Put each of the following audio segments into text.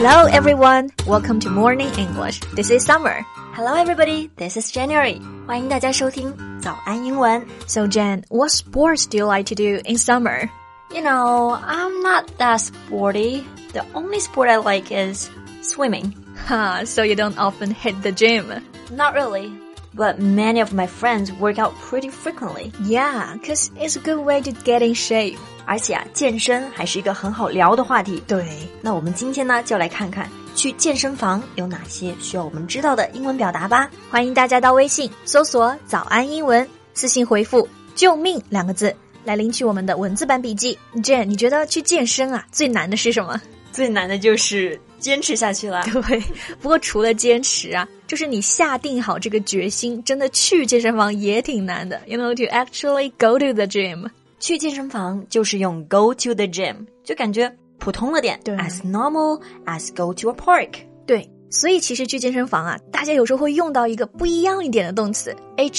Hello everyone, welcome to Morning English. This is Summer. Hello everybody, this is January. 欢迎大家收听早安英文。 So Jan, what sports do you like to do in summer? You know, I'm not that sporty. The only sport I like is swimming. So you don't often hit the gym? Not really. But many of my friends work out pretty frequently. Yeah, because it's a good way to get in shape. 而且健身还是一个很好聊的话题。 对， 那我们今天呢，就来看看去健身房有哪些需要我们知道的英文表达吧。 欢迎大家到微信搜索早安英文，私信回复救命2个字来领取我们的文字版笔记。Jen， 你觉得去健身啊，最难的是什么？ 最难的就是坚持下去了。 对，不过除了坚持啊，就是你下定好这个决心，真的去健身房也挺难的。You know, to actually go to the gym. 去健身房就是用 go to the gym， 就感觉普通了点。 对 ，as normal as go to a park。 对，所以其实去健身房啊，大家有时候会用到一个不一样一点的动词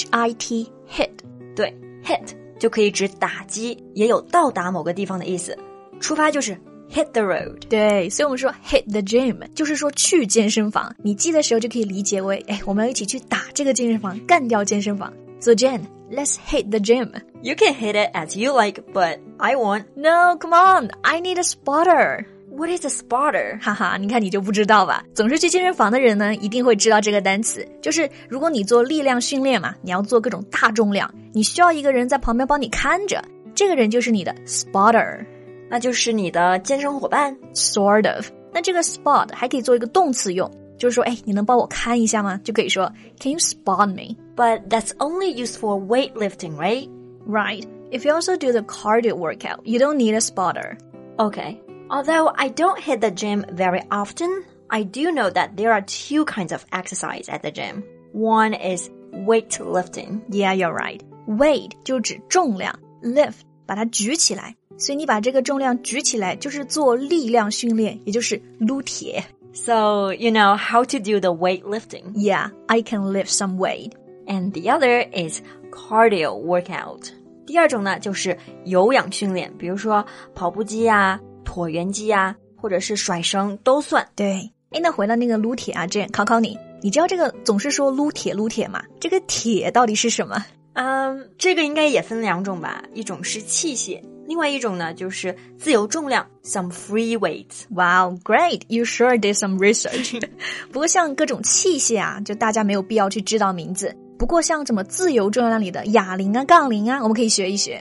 HIT hit。 对 ，hit 就可以指打击，也有到达某个地方的意思。出发就是hit the road。 对，所以我们说 hit the gym 就是说去健身房，你记的时候就可以理解为，我们要一起去打这个健身房，干掉健身房。So Jen, let's hit the gym. You can hit it as you like, but I won't. No, come on, I need a spotter. What is a spotter? 哈哈，你看你就不知道吧？总是去健身房的人呢，一定会知道这个单词。就是如果你做力量训练嘛，你要做各种大重量，你需要一个人在旁边帮你看着，这个人就是你的 spotter。 那就是你的健身伙伴 Sort of。那这个 spot 还可以做一个动词用，就是说，你能帮我看一下吗？就可以说 Can you spot me? But that's only used for weightlifting, right? Right. If you also do the cardio workout, you don't need a spotter. Okay. Although I don't hit the gym very often, I do know that there are two kinds of exercise at the gym. One is weightlifting. Yeah, you're right. Weight 就指重量 ，lift 把它举起来。所以你把这个重量举起来就是做力量训练，也就是撸铁。 So, you know how to do the weightlifting. Yeah, I can lift some weight. And the other is cardio workout. 第二种呢，就是有氧训练，比如说跑步机啊、椭圆机啊，或者是甩绳都算。 对，那回到那个撸铁啊，这样考考你，你知道这个总是说撸铁吗？这个铁到底是什么？ 这个应该也分2种吧，一种是器械，另外一种呢就是自由重量 some free weights. Wow, great. You sure did some research. 不过像各种器械啊，就大家没有必要去知道名字。不过像什么自由重量里的哑铃啊、杠铃啊，我们可以学一学。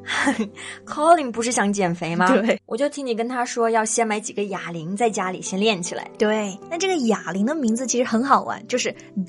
Colin 不是想减肥吗？ 对， 我就听你跟他说要先买几个哑铃在家里先练起来。 对，那这个哑铃的名字其实很好玩，就是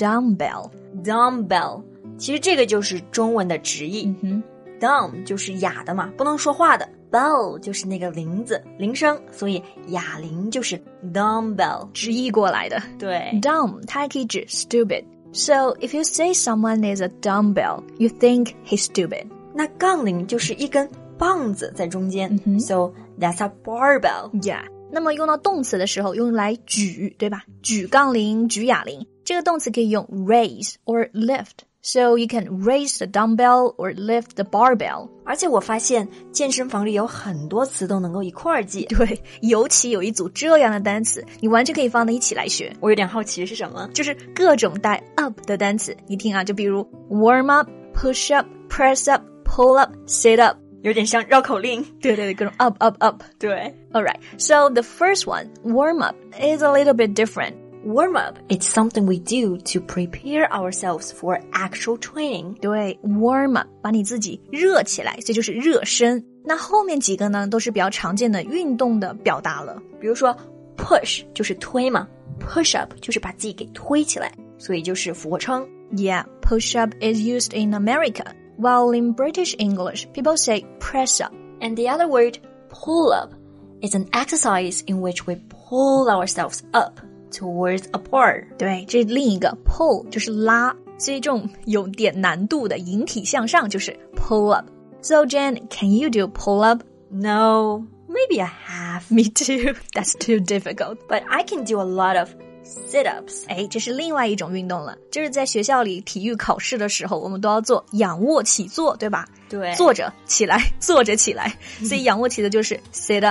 dumbbell。 其实这个就是中文的直译。Dumb 就是哑的嘛，不能说话的。Bell 就是那个铃子，铃声，所以哑铃就是 dumbbell 直译过来的。 对 ，dumb 它还可以指 stupid。So if you say someone is a dumbbell, you think he's stupid. 那杠铃就是一根棒子在中间。So that's a barbell. Yeah. 那么用到动词的时候，用来举，对吧？举杠铃、举哑铃，这个动词可以用 raise or lift.So you can raise the dumbbell or lift the barbell. 而且我发现健身房里有很多词都能够一块儿记。 对，尤其有一组这样的单词，你完全可以放在一起来学。 我有点好奇是什么？ 就是各种带 up 的单词。你听啊，就比如 warm up, push up, press up, pull up, sit up. 有点像绕口令。 对，各种 up. 对。 Alright, so the first one, warm up, is a little bit different.Warm up, it's something we do to prepare ourselves for actual training. 对 warm up 把你自己热起来，所以就是热身。那后面几个呢，都是比较常见的运动的表达了。 比如说 push 就是推嘛， push up 就是把自己给推起来，所以就是俯卧撑。 Yeah, push up is used in America, while in British English, people say press up. And the other word, pull up, is an exercise in which we pull ourselves up.Towards a part. 对，这另一个 pull 就是拉，所以这种有点难度的引体向上就是 pull up. So Jen, can you do pull up? No, maybe I have. Me too. That's too difficult. But I can do a lot of sit-ups. 这是另外一种运动了，就是在学校里体育考试的时候，我们都要做仰卧起坐，对吧？ 对， 坐着起来，坐着起来，所以仰卧起坐就是 sit up.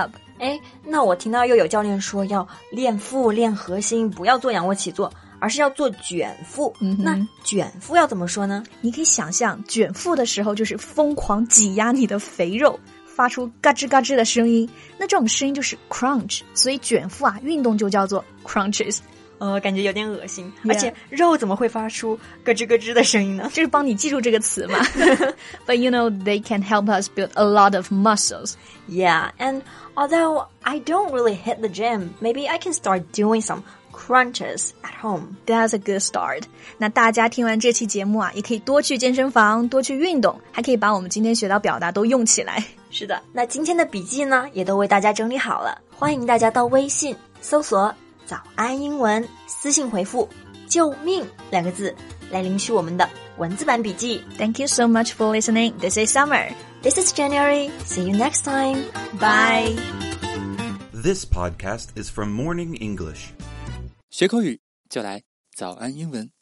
哎，那我听到又有教练说要练腹练核心，不要做仰卧起坐，而是要做卷腹。那卷腹要怎么说呢？ 你可以想象卷腹的时候就是疯狂挤压你的肥肉，发出嘎吱嘎吱的声音，那这种声音就是 crunch， 所以卷腹啊运动就叫做 crunches。 感觉有点恶心，而且肉怎么会发出咯吱咯吱的声音呢？ 就是帮你记住这个词嘛。But you know, they can help us build a lot of muscles. Yeah, and although I don't really hit the gym, maybe I can start doing some crunches at home. That's a good start. 那大家听完这期节目啊，也可以多去健身房，多去运动，还可以把我们今天学到表达都用起来。 是的，那今天的笔记呢，也都为大家整理好了，欢迎大家到微信搜索早安英文，私信回复救命2个字来领取我们的文字版笔记。 Thank you so much for listening. This is Summer. This is January. See you next time. Bye. This podcast is from Morning English. 学口语就来早安英文。